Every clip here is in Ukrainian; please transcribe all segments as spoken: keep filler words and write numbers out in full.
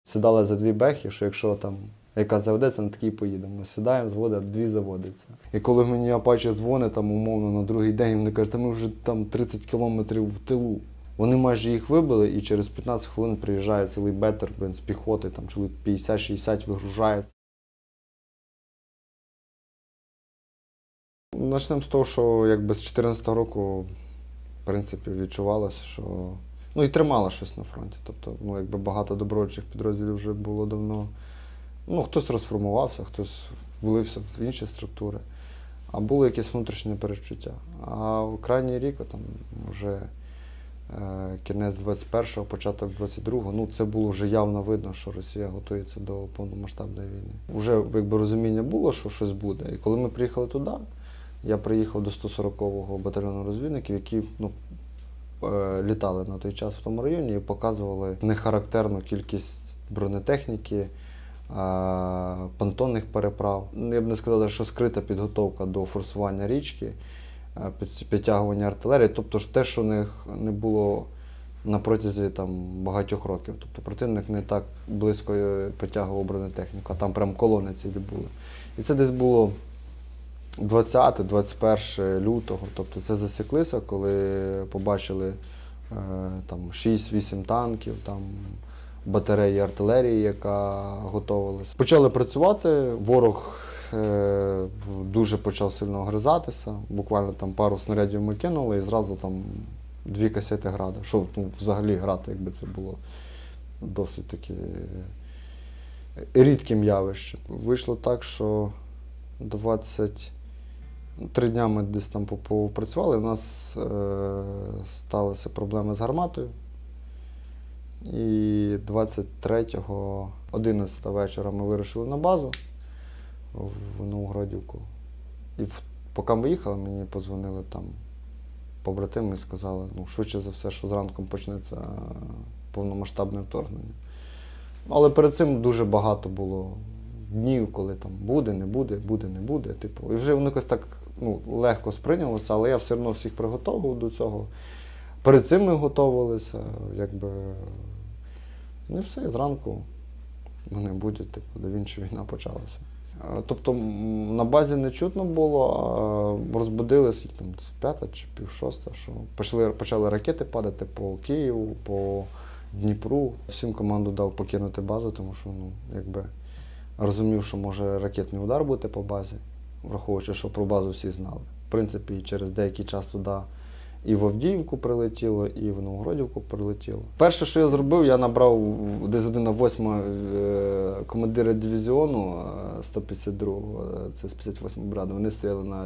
Сідали за дві бехи, що якщо там яка заведеться, на такій поїдемо. Ми сідаємо, зводить, дві заводиться. І коли мені Апачі дзвонить, там, умовно, на другий день, вони кажуть, та ми вже там тридцять кілометрів в тилу. Вони майже їх вибили, і через п'ятнадцять хвилин приїжджає цілий бетер, блин, з піхоти, там чоловік п'ятдесят-шістдесят вигружається. Почнемо з того, що якби з дві тисячі чотирнадцятого року, в принципі, відчувалося, що ну і тримало щось на фронті. Тобто, ну, якби багато добровольчих підрозділів вже було давно. Ну, хтось розформувався, хтось влився в інші структури, а було якесь внутрішнє перечуття. А в крайній рік, там, вже е, кінець двадцять першого, початок двадцять другого, ну, це було вже явно видно, що Росія готується до повномасштабної війни. Вже якби розуміння було, що щось буде. І коли ми приїхали туди, я приїхав до сто сорокового батальйону розвідників, які ну, е, літали на той час в тому районі і показували нехарактерну кількість бронетехніки, понтонних переправ. Я б не сказав, що скрита підготовка до форсування річки, підтягування артилерії, тобто те, що у них не було на протязі там, багатьох років. Тобто противник не так близько підтягував бронетехніку, а там прям колони цілі були. І це десь було двадцяте-двадцять перше лютого, тобто це засіклися, коли побачили там шість-вісім танків, там батареї артилерії, яка готувалася. Почали працювати, ворог е, дуже почав сильно огризатися, буквально там пару снарядів ми кинули і зразу там дві касети града. Що ну, взагалі грати, якби це було досить таки рідким явищем. Вийшло так, що двадцять три дня ми десь там попрацювали, у нас е, сталися проблеми з гарматою. І двадцять третього, одинадцятого вечора ми вирушили на базу в Новогродівку. І в, поки ми їхали, мені подзвонили там побратими і сказали, ну, швидше за все, що зранку почнеться повномасштабне вторгнення. Але перед цим дуже багато було днів, коли там буде, не буде, буде, не буде. Типу. І вже воно якось так ну, легко сприйнялося, але я все одно всіх приготовував до цього. Перед цим ми готувалися, якби, ну і все, і зранку вони будуть, типу, до Вінчі війна почалася. Тобто на базі не чутно було, а розбудилися там п'ята чи пів шоста, що почали, почали ракети падати по Києву, по Дніпру. Всім команду дав покинути базу, тому що, ну, якби, розумів, що може ракетний удар бути по базі, враховуючи, що про базу всі знали. В принципі, через деякий час туди і в Авдіївку прилетіло, і в Новогродівку прилетіло. Перше, що я зробив, я набрав десь година восьма командира дивізіону сто п'ятдесят другого, це з п'ятдесят восьмої бригади. Вони стояли на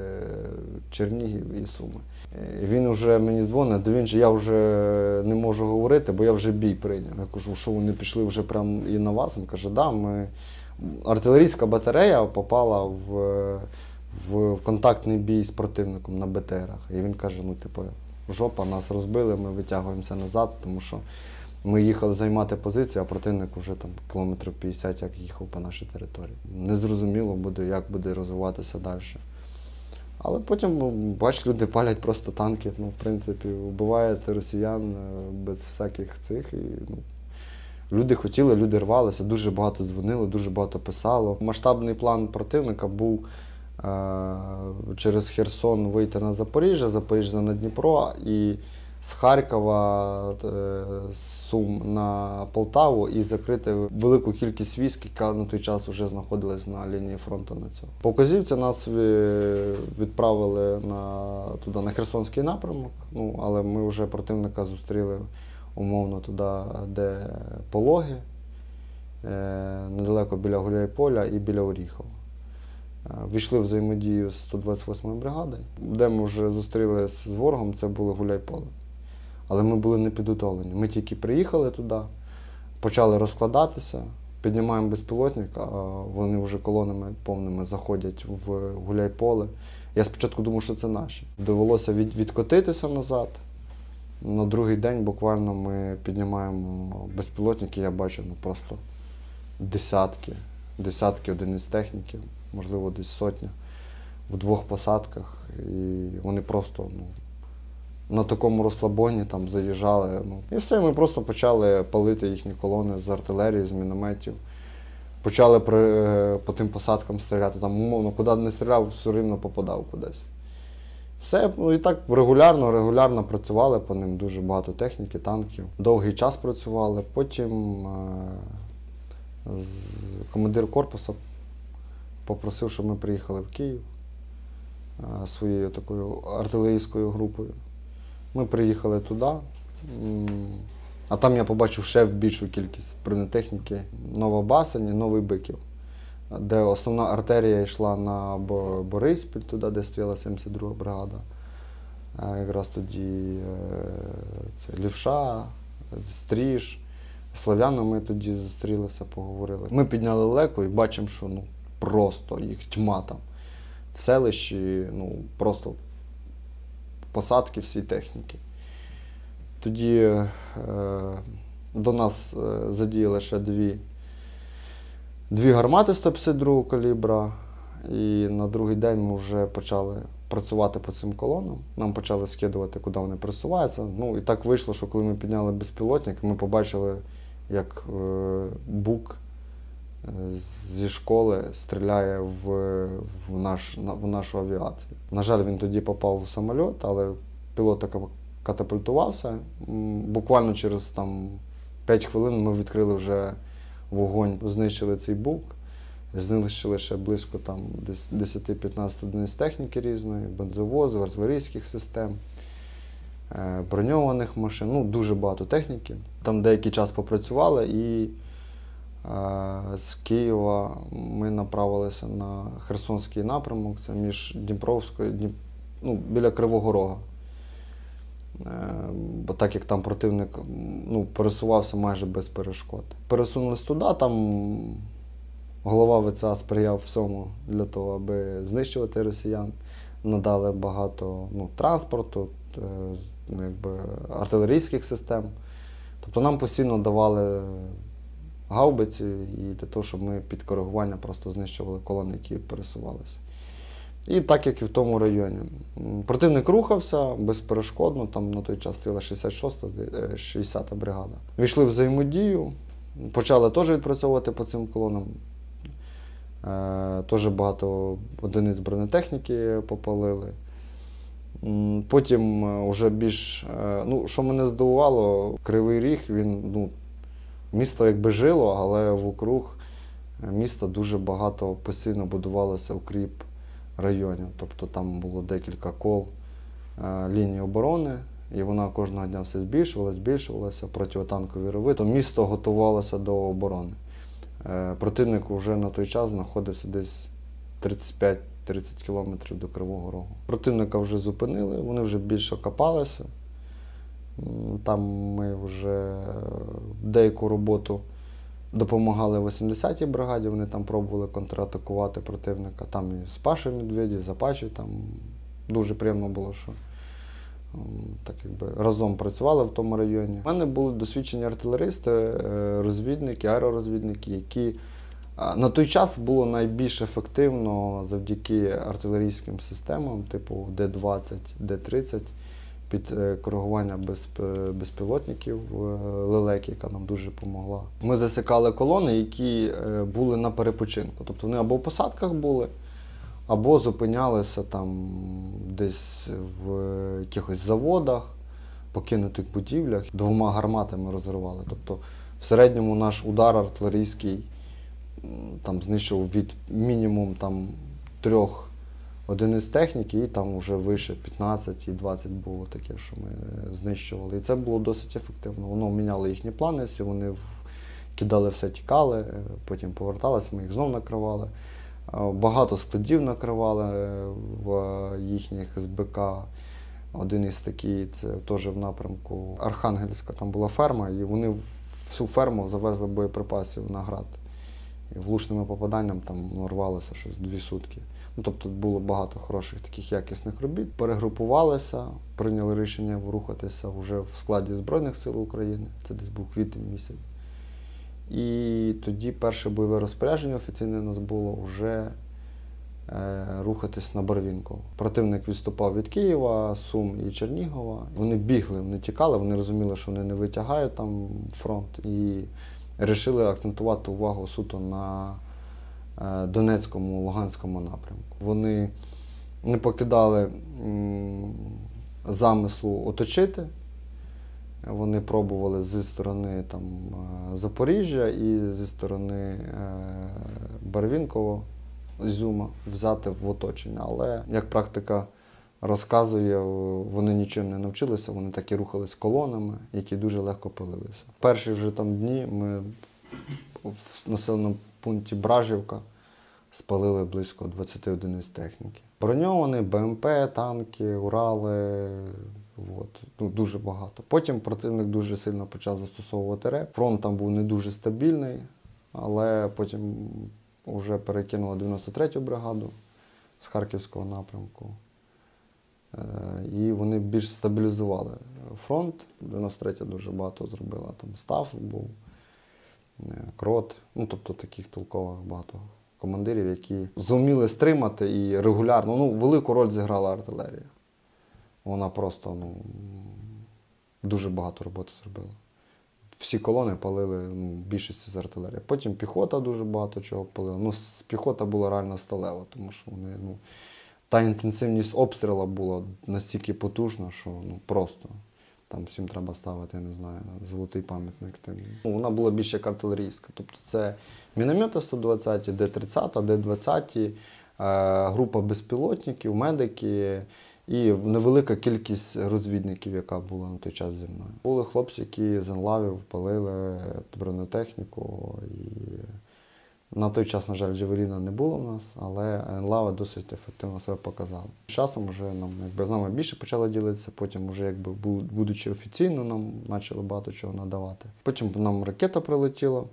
Чернігів і Суми. І він вже мені дзвонить, до він же я вже не можу говорити, бо я вже бій прийняв. Я кажу, що вони пішли вже прямо і на вас? Він каже, да, ми... артилерійська батарея попала в... в контактний бій з противником на Бе Те Ерах. І він каже, ну, типу, жопа, нас розбили, ми витягуємося назад, тому що ми їхали займати позиції, а противник вже там кілометрів п'ятдесят як їхав по нашій території. Незрозуміло буде, як буде розвиватися далі. Але потім, бач, люди палять просто танки, ну, в принципі, вбивають росіян без всяких цих. І, ну, люди хотіли, люди рвалися, дуже багато дзвонили, дуже багато писало. Масштабний план противника був через Херсон вийти на Запоріжжя, Запоріжжя на Дніпро і з Харкова, з Сум на Полтаву і закрити велику кількість військ, яка на той час вже знаходилась на лінії фронту на цьому. По вказівці нас відправили на, туди, на Херсонський напрямок, ну, але ми вже противника зустріли умовно туди, де Пологи, недалеко біля Гуляйполя і біля Оріхова. Війшли в взаємодію з сто двадцять восьмою бригадою, де ми вже зустрілися з ворогом, це було Гуляйполе. Але ми були не підготовлені. Ми тільки приїхали туди, почали розкладатися, піднімаємо безпілотник, а вони вже колонами повними заходять в Гуляйполе. Я спочатку думав, що це наші. Довелося від, відкотитися назад. На другий день буквально ми піднімаємо безпілотники, я бачу ну, просто десятки, десятки одиниць техніки. Можливо, десь сотня, в двох посадках. І вони просто ну, на такому розслабоні там заїжджали. Ну, і все, ми просто почали палити їхні колони з артилерії, з мінометів. Почали при, по тим посадкам стріляти. Там, умовно, куди не стріляв, все рівно попадав кудись. Все, ну і так регулярно, регулярно працювали по ним, дуже багато техніки, танків. Довгий час працювали. Потім е, з, командир корпусу попросив, щоб ми приїхали в Київ е, своєю такою артилерійською групою. Ми приїхали туди, а там я побачив ще більшу кількість бронетехніки. Нова Басань і Новий Биків, де основна артерія йшла на Бориспіль, туди, де стояла сімдесят друга бригада. Якраз тоді це Лівша, Стріж, Слов'яно ми тоді зустрілися, поговорили. Ми підняли леку і бачимо, що ну, просто їх тьма там. В селищі ну, просто посадки всі техніки. Тоді е, до нас е, задіяли ще дві, дві гармати сто п'ятдесят другого калібра, і на другий день ми вже почали працювати по цим колонам. Нам почали скидувати, куди вони пересуваються. Ну, і так вийшло, що коли ми підняли безпілотник, ми побачили, як е, Бук зі школи стріляє в, в, наш, в нашу авіацію. На жаль, він тоді попав в самоліт, але пілот так катапультувався. Буквально через там, п'ять хвилин ми відкрили вже вогонь, знищили цей Бук, знищили ще близько там, десять-п'ятнадцять одиниць техніки різної, бензовозів, артилерійських систем, броньованих машин, ну дуже багато техніки. Там деякий час попрацювали і е, з Києва ми направилися на Херсонський напрямок, це між Дніпровською, Дніп... ну, біля Кривого Рога. Бо так як там противник ну, пересувався майже без перешкод. Пересунулись туди, там голова ВЦА сприяв всьому для того, аби знищувати росіян. Надали багато ну, транспорту, ну, якби, артилерійських систем. Тобто нам постійно давали гаубиці і для того, щоб ми під коригування просто знищували колони, які пересувалися. І так, як і в тому районі. Противник рухався безперешкодно, там на той час стояла шістдесят шоста, шістдесята бригада. Війшли в взаємодію, почали теж відпрацьовувати по цим колонам. Е, теж багато одиниць бронетехніки попалили. Потім вже більш, е, ну, що мене здивувало, Кривий Ріг, він, ну, місто якби жило, але вокруг міста дуже багато постійно будувалося укріп районів. Тобто там було декілька кол е, лінії оборони, і вона кожного дня все збільшувалася, збільшувалася, протитанкові рови. То місто готувалося до оборони. Е, противник вже на той час знаходився десь тридцять п'ять тридцять кілометрів до Кривого Рогу. Противника вже зупинили, вони вже більше копалися. Там ми вже деяку роботу допомагали вісімдесятій бригаді, вони там пробували контратакувати противника. Там і з Паші Медведі, з Апачі, там дуже приємно було, що так якби разом працювали в тому районі. У мене були досвідчені артилеристи, розвідники, аеророзвідники, які на той час було найбільш ефективно завдяки артилерійським системам, типу Д двадцять, Д тридцять, під коригування безпілотників лелек, яка нам дуже допомогла. Ми засікали колони, які були на перепочинку. Тобто вони або в посадках були, або зупинялися там десь в якихось заводах, покинутих будівлях. Двома гарматами розривали. Тобто в середньому наш удар артилерійський там знищував від мінімум там трьох одиниць техніки, і там вже вище п'ятнадцять і двадцять було таке, що ми знищували. І це було досить ефективно. Воно міняло їхні плани, всі вони кидали все, тікали, потім поверталися, ми їх знов накривали. Багато складів накривали в їхніх ес бе ка. Один із таких, це теж в напрямку Архангельська, там була ферма, і вони всю ферму завезли боєприпасів на град. І влучними попаданням там ну, рвалося щось дві сутки. Ну, тобто було багато хороших таких якісних робіт. Перегрупувалися, прийняли рішення рухатися вже в складі Збройних сил України. Це десь був квітень місяць. І тоді перше бойове розпорядження офіційне у нас було вже рухатись на Барвінково. Противник відступав від Києва, Сум і Чернігова. Вони бігли, вони тікали, вони розуміли, що вони не витягають там фронт, і вирішили акцентувати увагу суто на Донецькому, Луганському напрямку. Вони не покидали замислу оточити. Вони пробували зі сторони там, Запоріжжя і зі сторони Барвінково, Ізюма взяти в оточення. Але, як практика розказує, вони нічим не навчилися, вони так і рухались колонами, які дуже легко палилися. Перші вже там дні ми в населеному пункті Бражівка спалили близько двадцяти одиниць техніки. Броньовані, БМП, танки, Урали, от, ну, дуже багато. Потім противник дуже сильно почав застосовувати РЕП. Фронт там був не дуже стабільний, але потім вже перекинули дев'яносто третю бригаду з Харківського напрямку. І вони більш стабілізували фронт. дев'яносто третя дуже багато зробила. Там Став був, Крот, ну тобто таких толкових багато командирів, які зуміли стримати і регулярно, ну, велику роль зіграла артилерія. Вона просто, ну, дуже багато роботи зробила. Всі колони палили, ну, більшості з артилерії. Потім піхота дуже багато чого палила. Ну, піхота була реально сталева, тому що вони, ну, та інтенсивність обстрілу була настільки потужна, що, ну, просто там всім треба ставити, я не знаю, золотий пам'ятник. Ну, вона була більш як артилерійська. Тобто це міномети сто двадцять, Д тридцять, Д двадцять, е, група безпілотників, медики і невелика кількість розвідників, яка була на той час зі мною. Були хлопці, які з енлавів палили бронетехніку. І на той час, на жаль, Джавеліна не було в нас, але енлави досить ефективно себе показали. З часом вже нам, якби, з нами більше почали ділитися, потім вже, якби, будучи офіційно, нам почали багато чого надавати. Потім нам ракета прилетіла,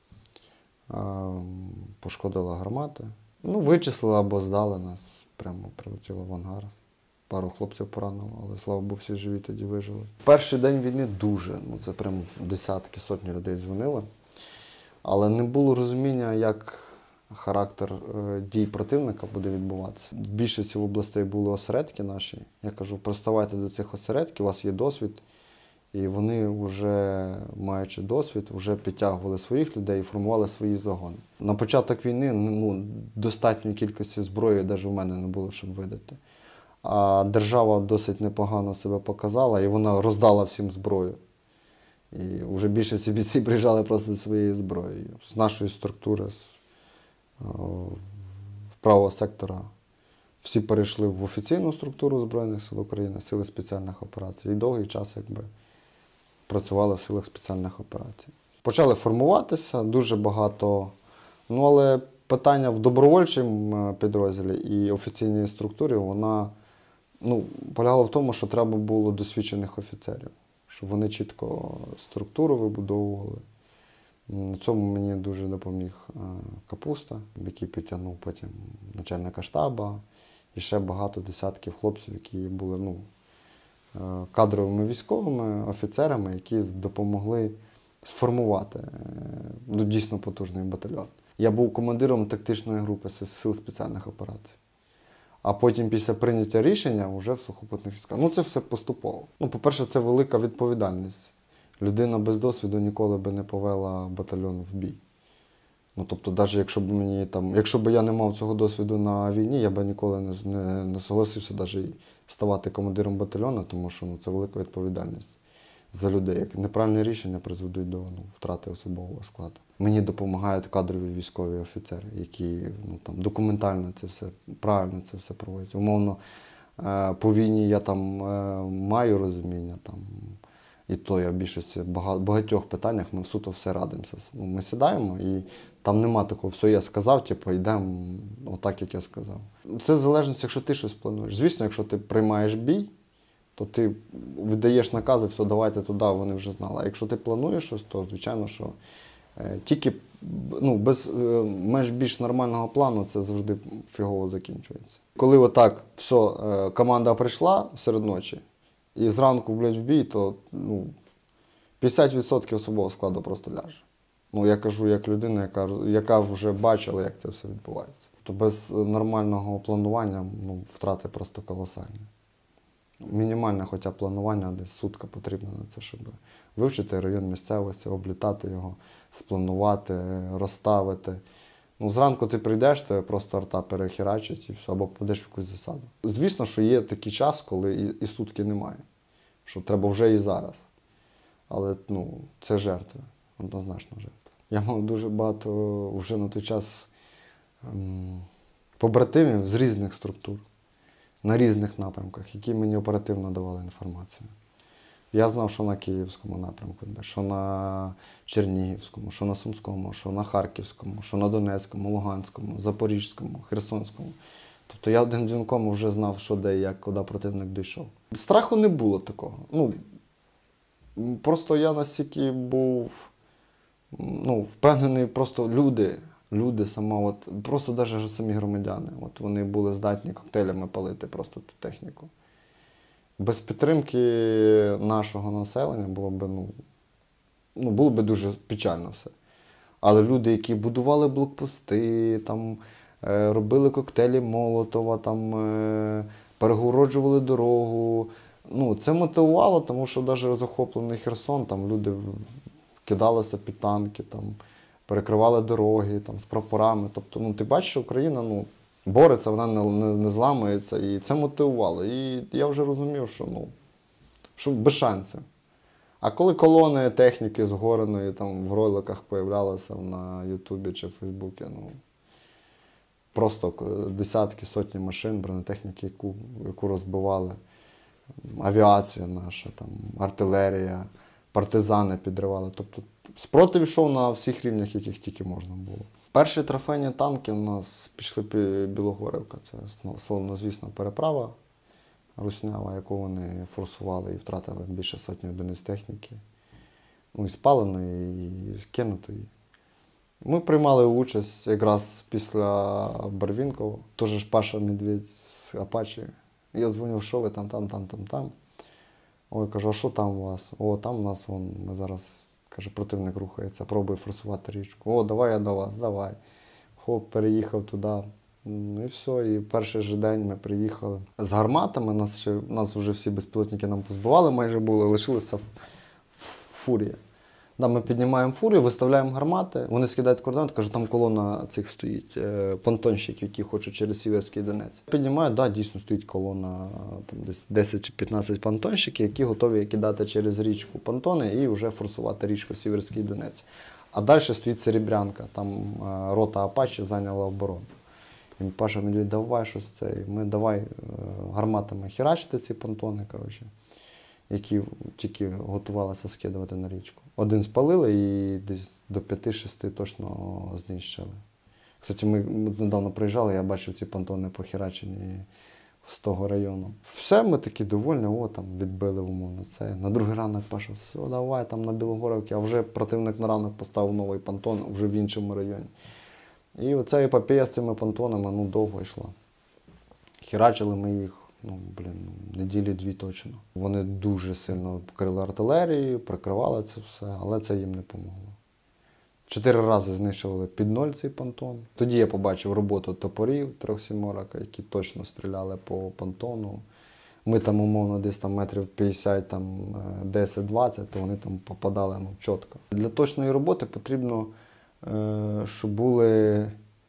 пошкодила гармати. Ну, вичислили або здали нас, прямо прилетіло в ангар. Пару хлопців поранило, але, слава Богу, всі живі тоді вижили. Перший день війни дуже, ну це прям десятки, сотні людей дзвонили. Але не було розуміння, як характер дій противника буде відбуватися. В більшості областей були осередки наші. Я кажу, приставайте до цих осередків, у вас є досвід. І вони вже, маючи досвід, вже підтягували своїх людей і формували свої загони. На початок війни, ну, достатньої кількості зброї навіть у мене не було, щоб видати. А держава досить непогано себе показала, і вона роздала всім зброю. І вже більшість бійців приїжджали просто зі своєю зброєю. З нашої структури, з правого сектора, всі перейшли в офіційну структуру Збройних сил України, Сили спеціальних операцій. І довгий час, якби, працювали в силах спеціальних операцій. Почали формуватися дуже багато, ну але питання в добровольчому підрозділі і офіційній структурі, вона, ну, полягало в тому, що треба було досвідчених офіцерів, щоб вони чітко структуру вибудовували. На цьому мені дуже допоміг Капуста, який підтягнув потім начальника штабу, і ще багато десятків хлопців, які були, ну, кадровими військовими офіцерами, які допомогли сформувати, ну, дійсно потужний батальйон. Я був командиром тактичної групи Сил спеціальних операцій. А потім після прийняття рішення вже в сухопутних військах. Ну, це все поступово. Ну, по-перше, це велика відповідальність. Людина без досвіду ніколи би не повела батальйон в бій. Ну, тобто, навіть якщо б мені там, якщо б я не мав цього досвіду на війні, я б ніколи не, не, не согласився навіть ставати командиром батальйону, тому що, ну, це велика відповідальність за людей. Як неправильні рішення призведуть до, ну, втрати особового складу. Мені допомагають кадрові військові офіцери, які, ну, там, документально це все, правильно це все проводять. Умовно, по війні я там маю розуміння, там, і то я в більшості багатьох питаннях ми суто все радимося. Ми сідаємо і там нема такого, все я сказав, типу, йдемо отак, як я сказав. Це залежить, якщо ти щось плануєш. Звісно, якщо ти приймаєш бій, то ти віддаєш накази, все, давайте туди, вони вже знали. А якщо ти плануєш щось, то, звичайно, що е, тільки, ну, без е, менш більш нормального плану це завжди фігово закінчується. Коли отак все, е, команда прийшла серед ночі, і зранку, блядь, в бій, то, ну, п'ятдесят відсотків особового складу просто ляже. Ну, я кажу як людина, яка, яка вже бачила, як це все відбувається. То без нормального планування ну, втрати просто колосальні. Мінімальне хоча б планування, десь сутка потрібна на це, щоб вивчити район місцевості, облітати його, спланувати, розставити. Ну, зранку ти прийдеш, тебе просто арта перехерачить і все, або попадеш в якусь засаду. Звісно, що є такий час, коли і, і сутки немає, що треба вже і зараз. Але ну, це жертви, однозначно жертви. Я мав дуже багато вже на той час ем, побратимів з різних структур, на різних напрямках, які мені оперативно давали інформацію. Я знав, що на Київському напрямку, що на Чернігівському, що на Сумському, що на Харківському, що на Донецькому, Луганському, Запорізькому, Херсонському. Тобто я одним дзвінком вже знав, що де і як, куди противник дійшов. Страху не було такого. Ну, просто я настільки був ну, впевнений, просто люди, люди сама, от, просто навіть самі громадяни, от вони були здатні коктейлями палити просто ту техніку. Без підтримки нашого населення було б, ну, ну, було б дуже печально все. Але люди, які будували блокпости, там, е, робили коктейлі Молотова, там, е, перегороджували дорогу, ну, це мотивувало, тому що навіть захоплений Херсон, там люди кидалися під танки, там, перекривали дороги там, з прапорами. Тобто, ну, ти бачиш, що Україна, ну, бореться, вона не, не, не зламується, і це мотивувало. І я вже розумів, що, ну, що без шансів. А коли колони техніки згореної там в роликах появлялися на Ютубі чи в Фейсбуці, ну, просто десятки, сотні машин, бронетехніки, яку, яку розбивали, авіація наша, там, артилерія, партизани підривали. Тобто спротив йшов на всіх рівнях, яких тільки можна було. Перші трофейні танки у нас пішли Білогорівка. Це славнозвісна переправа руснява, яку вони форсували і втратили більше сотні одиниць техніки. Ну, і спаленої, і скинутої. Ми приймали участь якраз після Барвінкова. Теж ж Паша Медведь з Апачі. Я дзвонив, що ви там, там, там, там, там. Ой, кажу, а що там у вас? О, там у нас, вон, ми зараз, каже, противник рухається, пробує форсувати річку. О, давай я до вас, давай. Хоп, переїхав туди. Ну і все, і перший же день ми приїхали. З гарматами, нас, ще, нас вже всі безпілотники нам позбивали, майже були, лишилася фурія. Да, ми піднімаємо фурію, виставляємо гармати, вони скидають координати, кажуть, там колона цих стоїть, е, понтонщиків, які хочуть через Сіверський Донець. Піднімають, да, дійсно стоїть колона, там десь десять чи п'ятнадцять понтонщиків, які готові кидати через річку понтони і вже форсувати річку Сіверський Донець. А далі стоїть Серебрянка, там е, рота Апачі зайняла оборону. І Паша Медведь, давай щось це, і ми давай е, гарматами херачити ці понтони, коротше, які тільки готувалися скидувати на річку. Один спалили і десь до п'яти-шести точно знищили. Кстати, ми недавно приїжджали, я бачив ці понтони похерачені з того району. Все, ми такі довольні, о, там відбили умовно це. На другий ранок Паша, все, давай там на Білогорівці, а вже противник на ранок поставив новий понтон вже в іншому районі. І оця епопея з цими понтонами, ну, довго йшла. Херачили ми їх, ну, блін, неділі дві точно. Вони дуже сильно покрили артилерію, прикривали це все, але це їм не помогло. Чотири рази знищували під ноль цей понтон. Тоді я побачив роботу топорів трьохсіморок, які точно стріляли по понтону. Ми там, умовно, десь там метрів п'ятдесят, там десять-двадцять, то вони там попадали, ну, чітко. Для точної роботи потрібно, щоб були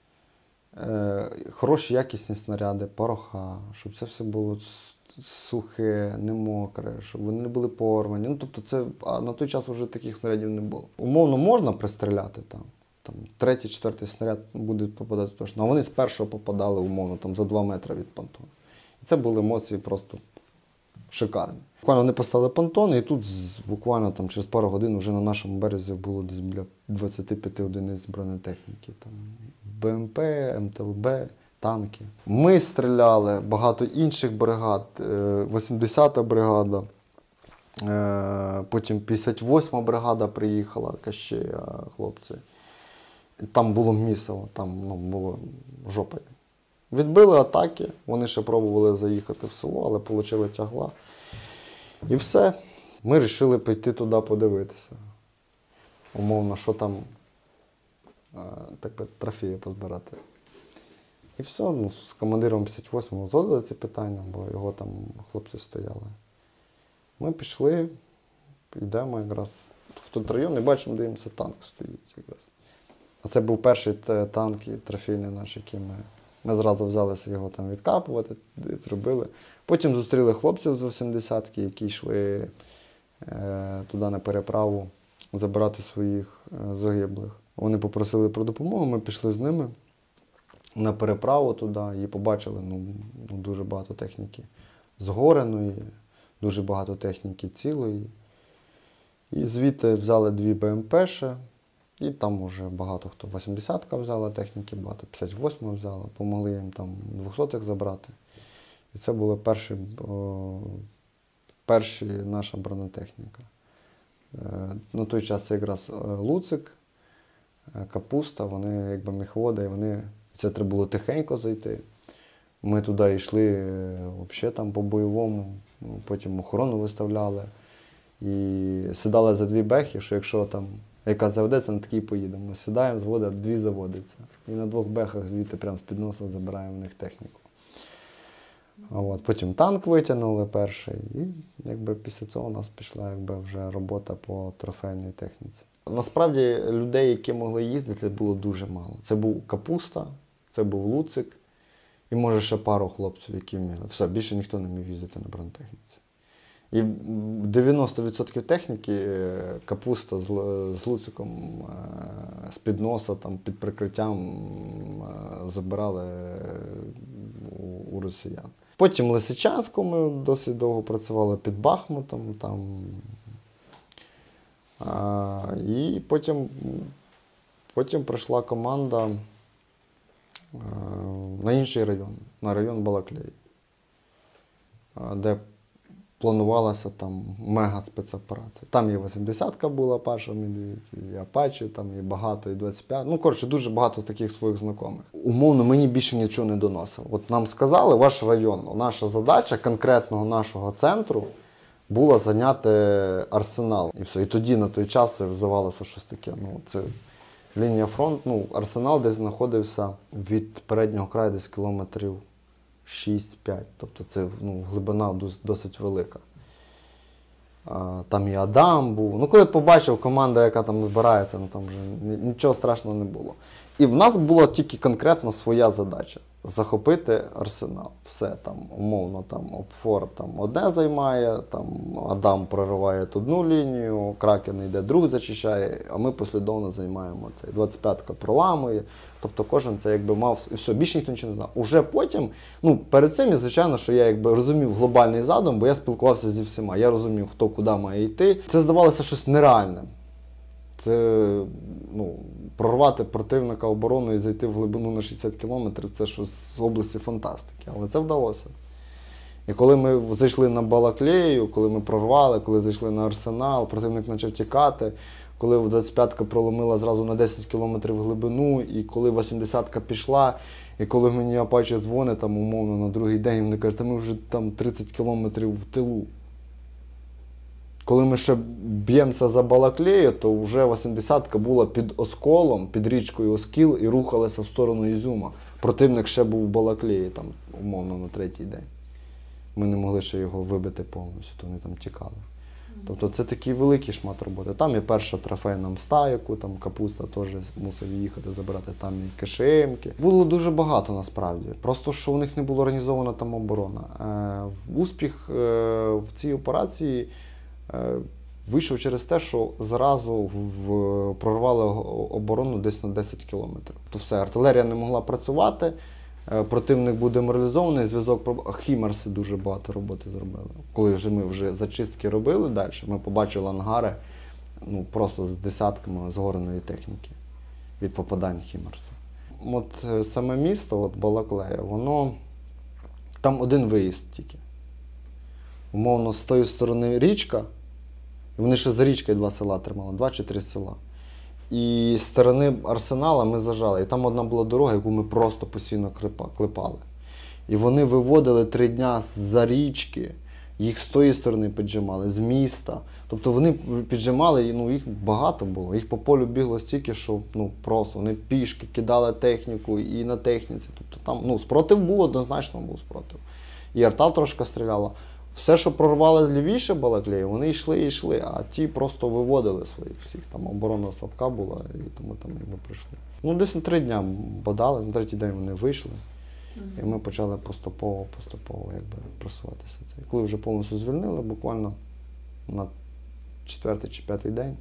хороші якісні снаряди, пороха, щоб це все було сухе, не мокре, щоб вони не були порвані. Ну, тобто це, а на той час вже таких снарядів не було. Умовно можна пристріляти там, там третій, четвертий снаряд буде попадати точно, а вони з першого попадали, умовно, там за два метри від понтону. І це були емоції просто шикарні. Буквально вони поставили понтон, і тут буквально там, через пару годин вже на нашому березі було десь біля двадцяти п'яти одиниць бронетехніки. Там БМП, МТЛБ, танки. Ми стріляли, багато інших бригад, вісімдесята бригада, потім п'ятдесят восьма бригада приїхала, Кащея, хлопці. Там було місиво, там, ну, було жопа. Відбили атаки, вони ще пробували заїхати в село, але отримали тягла. І все. Ми вирішили піти туди подивитися. Умовно, що там, так би, трофеї позбирати. І все, ну, з командиром п'ятдесят восьмого узгодили ці питання, бо його там хлопці стояли. Ми пішли, йдемо якраз в той район і бачимо, дивимося, танк стоїть якраз. А це був перший танк і трофейний наш, який ми, ми зразу взялися його там відкапувати, зробили. Потім зустріли хлопців з вісімдесятки, які йшли е, туди на переправу забирати своїх е, загиблих. Вони попросили про допомогу, ми пішли з ними на переправу туди і побачили ну, ну, дуже багато техніки згореної, дуже багато техніки цілої. І звідти взяли дві Б М Пе ще, і там вже багато хто вісімдесятка взяла техніки, багато п'ятдесят восьма взяла, помогли їм там двохсотих забрати. І це була перші, о, перші наша бронетехніка. Е, на той час це якраз Луцик, Капуста, вони якби міхводи, і вони, це треба було тихенько зайти. Ми туди йшли взагалі там по-бойовому, потім охорону виставляли. І сідали за дві бехи, що якщо там яка заведеться, на такій поїдемо. Ми сідаємо, зводимо, дві заводиться. І на двох бехах звідти прямо з-під носа забираємо в них техніку. А от, потім танк витягнули перший, і якби після цього у нас пішла якби вже робота по трофейній техніці. Насправді людей, які могли їздити, було дуже мало. Це був Капуста, це був Луцик і може ще пару хлопців, які вміли. Все, більше ніхто не міг їздити на бронетехніці. І дев'яносто відсотків техніки Капуста з, з Луциком з-під носа, там, під прикриттям забирали у, у росіян. Потім в Лисичанську ми досить довго працювали під Бахмутом. Там, а, і потім, потім прийшла команда а, на інший район, на район Балаклеї, а, де планувалася там мега спецоперація. Там і вісімдесятка була перша, і Апачі, там і багато, і двадцять п'ять. Ну, коротше, дуже багато таких своїх знайомих. Умовно, мені більше нічого не доносило. От нам сказали, ваш район, наша задача конкретного нашого центру була зайняти Арсенал. І все. І тоді, на той час, це здавалося щось таке. Ну, це лінія фронту. Ну, Арсенал десь знаходився від переднього краю десь кілометрів шість-п'ять. Тобто це ну, глибина досить велика. А, там і Адам був. Ну, коли побачив команду, яка там збирається, ну, там вже нічого страшного не було. І в нас була тільки конкретно своя задача – захопити Арсенал. Все, там, умовно, там, Опфор там, одне займає, там, Адам прориває одну лінію, Кракен йде, другу зачищає, а ми послідовно займаємо цей. двадцять п'ятка проламує. Тобто кожен це якби мав, і все, більше ніхто нічого не знав. Уже потім, ну, перед цим, звичайно, що я якби розумів глобальний задум, бо я спілкувався зі всіма. Я розумів, хто куди має йти. Це здавалося щось нереальним. Це, ну, прорвати противника оборону і зайти в глибину на шістдесят кілометрів, це щось з області фантастики. Але це вдалося. І коли ми зайшли на Балаклею, коли ми прорвали, коли зайшли на Арсенал, противник почав тікати, коли двадцять п'ятка проломила зразу на десять кілометрів глибину, і коли вісімдесятка пішла, і коли мені Апачі дзвонить, там, умовно, на другий день, вони кажуть, ми вже там тридцять кілометрів в тилу. Коли ми ще б'ємося за Балаклею, то вже вісімдесятка була під Осколом, під річкою Оскіл, і рухалася в сторону Ізюма. Противник ще був в Балаклеї, там, умовно, на третій день. Ми не могли ще його вибити повністю, то вони там тікали. Тобто це такий великий шмат роботи. Там і перша трофейна мста, яку там Капуста теж мусив їхати забирати, там і Ка Ше Емки. Було дуже багато насправді. Просто що у них не було організована там оборона. Е, успіх е, в цій операції е, вийшов через те, що зразу в, прорвали оборону десь на десять кілометрів. То все, артилерія не могла працювати. Противник був деморалізований, зв'язок, Хімарси дуже багато роботи зробили. Коли вже ми вже зачистки робили далі, ми побачили ангари, ну, просто з десятками згореної техніки від попадань Хімарса. От саме місто, от Балаклея, воно, там один виїзд тільки. Умовно, з тої сторони річка, і вони ще за річкою два села тримали, два чи три села. І з сторони Арсенала ми зажали. І там одна була дорога, яку ми просто постійно клепали. І вони виводили три дня з-за річки, їх з тої сторони піджимали, з міста. Тобто вони піджимали, ну їх багато було. Їх по полю бігло стільки, що ну просто вони пішки кидали техніку і на техніці. Тобто там ну, спротив був, однозначно був спротив. І арта трошки стріляла. Все, що прорвалося лівіше Балаклеї, вони йшли і йшли, а ті просто виводили своїх всіх. Там оборона слабка була, і тому там ми прийшли. Ну, десь на три дня бодали, на третій день вони вийшли. І ми почали поступово, поступово якби, просуватися. І коли вже повністю звільнили, буквально на четвертий чи п'ятий день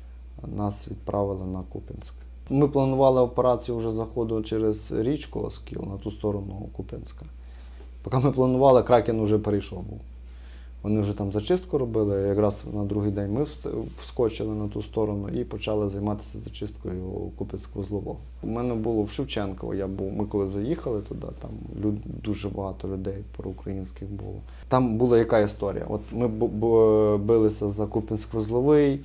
нас відправили на Куп'янськ. Ми планували операцію вже заходу через річку Оскіл на ту сторону Куп'янська. Поки ми планували, Кракен вже перейшов був. Вони вже там зачистку робили, якраз на другий день ми вскочили на ту сторону і почали займатися зачисткою Куп'янськ-Вузлового. У мене було в Шевченково, я був, ми коли заїхали туди, там люд, дуже багато людей проукраїнських було. Там була яка історія? От ми билися за Куп'янськ-Вузловий,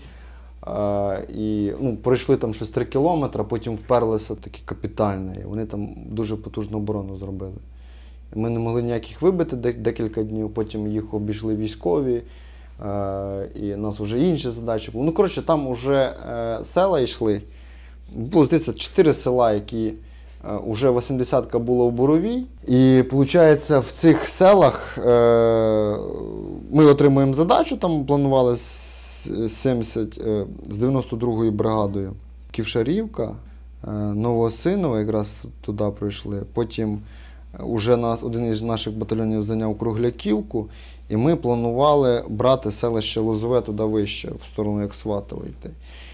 е, і ну, пройшли там щось три кілометри, потім вперлися такі капітальні, і вони там дуже потужну оборону зробили. Ми не могли ніяких вибити декілька днів, потім їх обійшли військові, е, і у нас вже інші задачі були. Ну, коротше, там вже е, села йшли. Було, здається, чотири села, які е, вже вісімдесятка було в Боровій. І, виходить, в цих селах е, ми отримуємо задачу, там планували з, сімдесят, е, з дев'яносто другою бригадою. Ківшарівка, е, Новоосиново, якраз туди пройшли. Потім уже нас, один із наших батальйонів зайняв Кругляківку, і ми планували брати селище Лозове туди вище, в сторону як Сватове йти.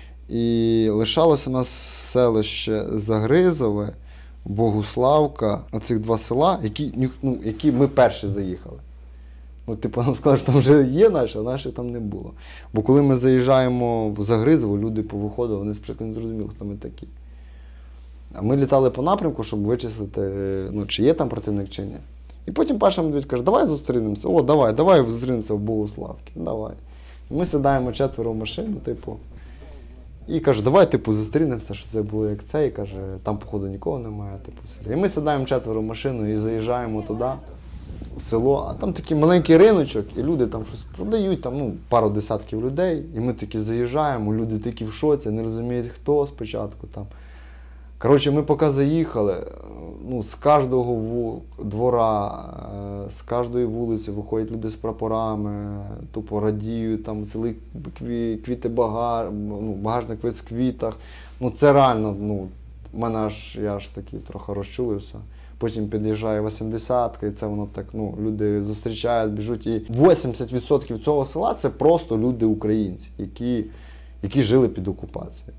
І лишалося нас селище Загризове, Богуславка, оцих два села, які, ну, які ми перші заїхали. Ну, типу, нам сказали, що там вже є наші, а наші там не було. Бо коли ми заїжджаємо в Загризово, люди повиходили, вони спочатку не зрозуміли, хто ми такі. А ми літали по напрямку, щоб вичислити, ну, чи є там противник, чи ні. І потім Паша Медведь каже, давай зустрінемося. О, давай, давай зустрінемося в Богуславці. Давай. І ми сідаємо четверо в машину, типу, і каже, давай, типу, зустрінемося, що це було як це. І каже, там, походу, нікого немає. Типу, і ми сідаємо четверо в машину і заїжджаємо туди, в село, а там такий маленький риночок, і люди там щось продають, там, ну, пару десятків людей. І ми такі заїжджаємо, люди такі в шоці, не розуміють, хто спочатку там. Коротше, ми поки заїхали, ну, з кожного двора, з кожної вулиці виходять люди з прапорами, тупо радіють, там цілий квіти багаж, ну, багажник весь в квітах. Ну, це реально, ну, мене аж, я аж такий трохи розчулився. Потім під'їжджає вісімдесятка, і це воно так, ну, люди зустрічають, біжуть. І вісімдесят відсотків цього села – це просто люди-українці, які, які жили під окупацією.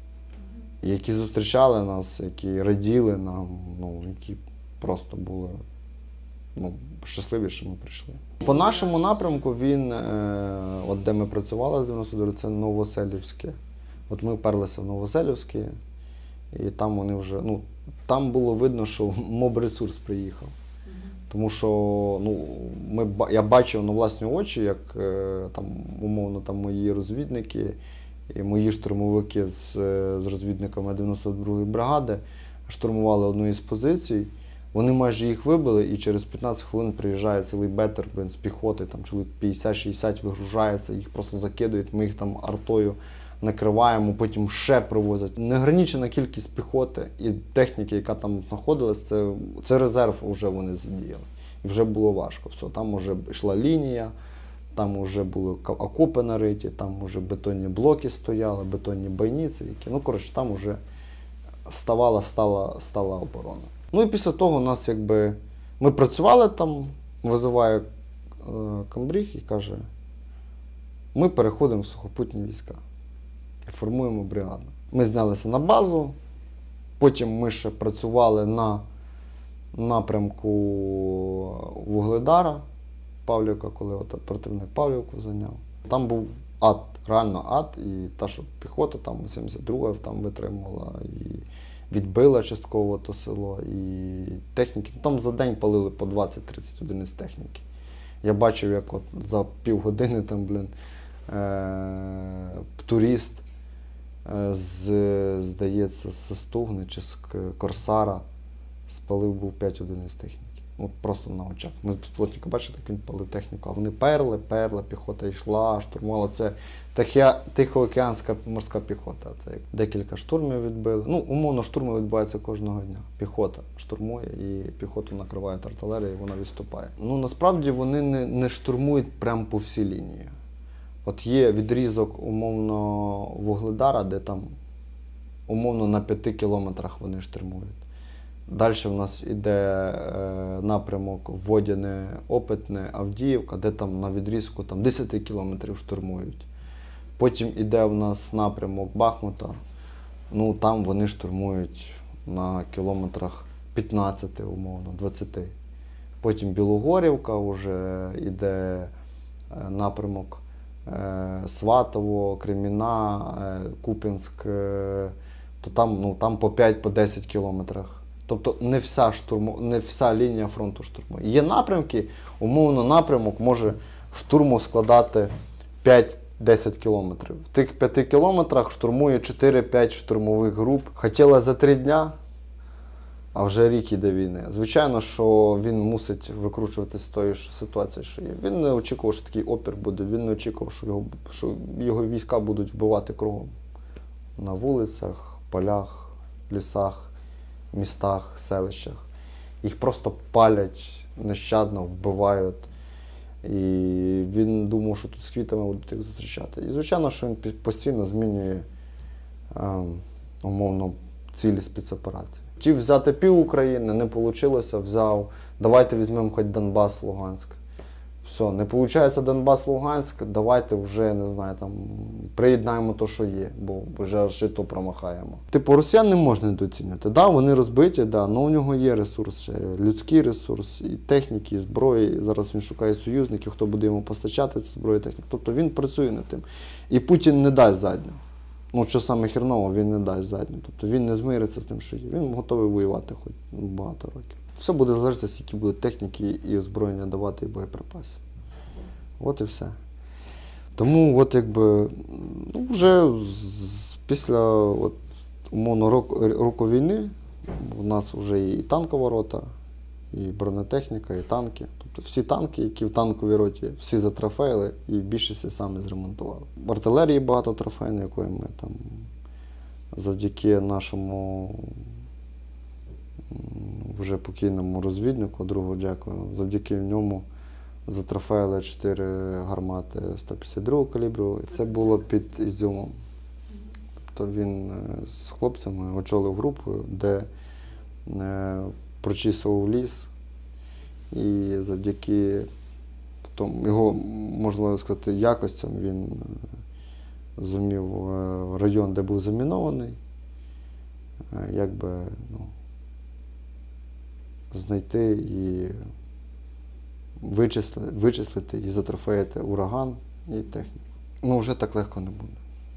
Які зустрічали нас, які раділи нам, ну, які просто були, ну, щасливі, що ми прийшли. По нашому напрямку він, е, от де ми працювали з дев'яносто другого, це Новоселівське. От ми вперлися в Новоселівське, і там вони вже, ну, там було видно, що моб-ресурс приїхав. Тому що, ну, ми, я бачив на власні очі, як е, там, умовно, там мої розвідники, і мої штурмовики з, з розвідниками дев'яносто другої бригади штурмували одну із позицій. Вони майже їх вибили, і через п'ятнадцять хвилин приїжджає цілий бетер, блин, з піхоти, там чоловік п'ятдесят-шістдесят вигружається, їх просто закидують, ми їх там артою накриваємо, потім ще привозять. Неограничена кількість піхоти і техніки, яка там знаходилась, це, це резерв вже вони задіяли. І вже було важко. Все, там вже йшла лінія. Там вже були окопи нариті, там вже бетонні блоки стояли, бетонні бойниці, які, ну, коротше, там вже ставала, стала, стала оборона. Ну і після того у нас, якби, ми працювали там, визиває е, комбриг і каже, ми переходимо в сухопутні війська і формуємо бригаду. Ми знялися на базу, потім ми ще працювали на напрямку Вугледара, Павлівка, коли от противник Павлівку зайняв. Там був ад, реально ад, і та, що піхота, там сімдесят друга там витримувала, і відбила частково то село, і техніки. Там за день палили по двадцять-тридцять одиниць техніки. Я бачив, як от за півгодини там, блін, е- турист е з, здається, з Стугни чи з Корсара спалив був п'ять одиниць техніки. От просто на очах. Ми з безпілотника бачили, як він палив техніку, а вони перли, перли, піхота йшла, штурмувала. Це Тихоокеанська морська піхота. Це декілька штурмів відбили. Ну, умовно, штурми відбуваються кожного дня. Піхота штурмує і піхоту накривають артилерією, і вона відступає. Ну, насправді вони не, не штурмують прямо по всій лінії. От є відрізок, умовно, Вугледара, де там, умовно, на п'яти кілометрах вони штурмують. Далі в нас йде е, напрямок Водяне, Опитне, Авдіївка, де там на відрізку там, десять кілометрів штурмують. Потім йде в нас напрямок Бахмута, ну там вони штурмують на кілометрах п'ятнадцяти, умовно, двадцяти. Потім Білогорівка, вже йде е, напрямок е, Сватово, Креміна, е, Куп'янськ, е, то там, ну, там по п'ять-десять кілометрах. Тобто не вся, штурму, не вся лінія фронту штурмує. Є напрямки, умовно напрямок може штурму складати п'ять-десять кілометрів. В тих п'яти кілометрах штурмує чотири-п'ять штурмових груп. Хотіла за три дня, а вже рік іде війни. Звичайно, що він мусить викручуватися з тої ситуації, що є. Він не очікував, що такий опір буде, він не очікував, що його, що його війська будуть вбивати кругом. На вулицях, полях, лісах, містах, селищах. Їх просто палять нещадно, вбивають. І він думав, що тут з квітами будуть їх зустрічати. І звичайно, що він постійно змінює е, умовно цілі спецоперації. Хотів взяти пів України, не вийшло, взяв, давайте візьмемо хоч Донбас, Луганськ. Все, не виходить Донбас, Луганськ, давайте вже, не знаю, там, приєднаємо те, що є, бо вже ще то промахаємо. Типу, росіян не можна недооцінювати. Да, вони розбиті, да, але у нього є ресурс, людський ресурс, і техніки, і зброї. І зараз він шукає союзників, хто буде йому постачати цю зброю і техніку. Тобто він працює над тим. І Путін не дасть задню. Ну, що саме херново, він не дасть задню. Тобто він не змириться з тим, що є. Він готовий воювати хоч багато років. Все буде залежати, скільки буде техніки і озброєння давати, і боєприпасів. От і все. Тому от якби, ну, вже з, після от, умовно року, року війни у нас вже і танкова рота, і бронетехніка, і танки. Тобто всі танки, які в танковій роті, всі затрофеїли і більшість самі зремонтували. В артилерії багато трофейної, якої ми там завдяки нашому вже покійному розвіднику, другу Джеку, завдяки ньому затрофеїли чотири гармати сто п'ятдесят другого калібру. Це було під Ізюмом. Тобто він з хлопцями очолив групу, де прочісував ліс. І завдяки тому, його, можна сказати, якостям він зумів район, де був замінований, якби, ну, знайти і вичислити, вичислити і затрофеїти ураган і техніку. Ну, вже так легко не буде.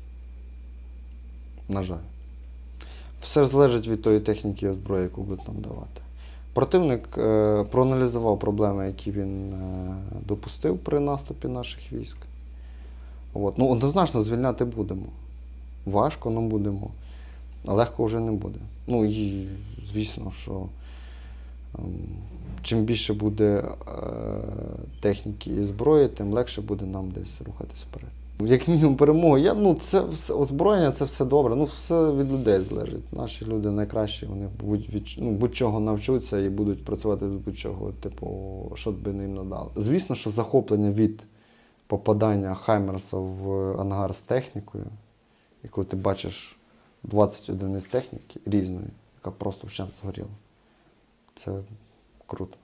На жаль. Все залежить від тої техніки і озброї, яку будуть нам давати. Противник е, проаналізував проблеми, які він е, допустив при наступі наших військ. От. Ну, однозначно звільняти будемо. Важко, але будемо. А легко вже не буде. Ну і звісно, що е, чим більше буде е, техніки і зброї, тим легше буде нам десь рухатись вперед. Як мінімум перемогу. Я, ну, це все, озброєння, це все добре. Ну, все від людей залежить. Наші люди найкращі, вони будь, ну, будь-чого навчуться і будуть працювати від будь-чого, типу, що б не їм надали. Звісно, що захоплення від попадання Хаймерса в ангар з технікою, і коли ти бачиш двадцять одиниць техніки різної, яка просто вщент згоріла, це круто.